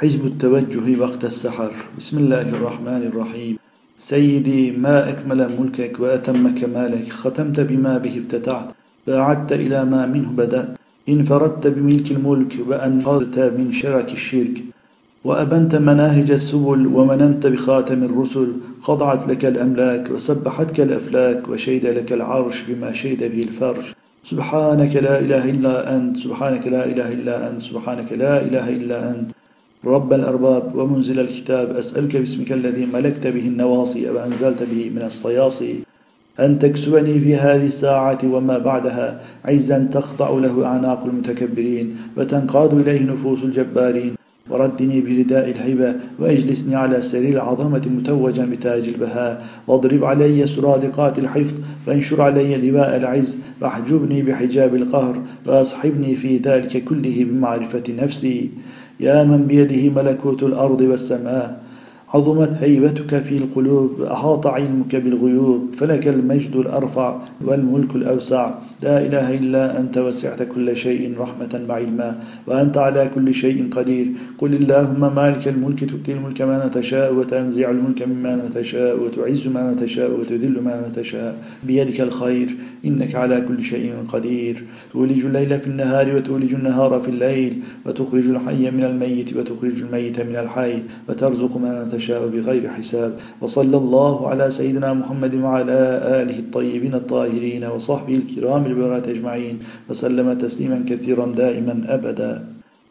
حزب التوجه وقت السحر. بسم الله الرحمن الرحيم. سيدي، ما أكمل ملكك وأتم كمالك، ختمت بما به افتتحت وأعدت إلى ما منه بدأت، انفردت بملك الملك وأنقذت من شرك الشرك، وأبنت مناهج السبل ومننت بخاتم الرسل، خضعت لك الأملاك وسبحتك الأفلاك وشهد لك العرش بما شهد به الفرش. سبحانك لا إله إلا أنت، سبحانك لا إله إلا أنت، سبحانك لا إله إلا أنت، رب الأرباب ومنزل الكتاب. أسألك باسمك الذي ملكت به النواصي وأنزلت به من الصياصي أن تكسبني في هذه الساعة وما بعدها عزا تخضع له أعناق المتكبرين وتنقاد إليه نفوس الجبارين، وردني برداء الهيبة وأجلسني على سرير العظمة متوجا بتاج البهاء، واضرب علي سرادقات الحفظ وانشر علي لواء العز، واحجبني بحجاب القهر وأصحبني في ذلك كله بمعرفة نفسي. يا من بيده ملكوت الأرض والسماء، عظمت هيبتك في القلوب وأحاط علمك بالغيوب، فلك المجد الأرفع والملك الأوسع. لا إله إلا أنت، وسعت كل شيء رحمة وعلما، وأنت على كل شيء قدير. قل اللهم مالك الملك، تؤتي الملك من تشاء وتنزع الملك ممن تشاء وتعز من تشاء وتذل من تشاء، بيدك الخير إنك على كل شيء قدير. تولج الليل في النهار وتولج النهار في الليل، وتخرج الحي من الميت وتخرج الميت من الحي، وترزق من تشاء بغير حساب. وصلى الله على سيدنا محمد وعلى آله الطيبين الطاهرين وصحبه الكرام البررة أجمعين، وسلم تسليما كثيرا دائما أبدا.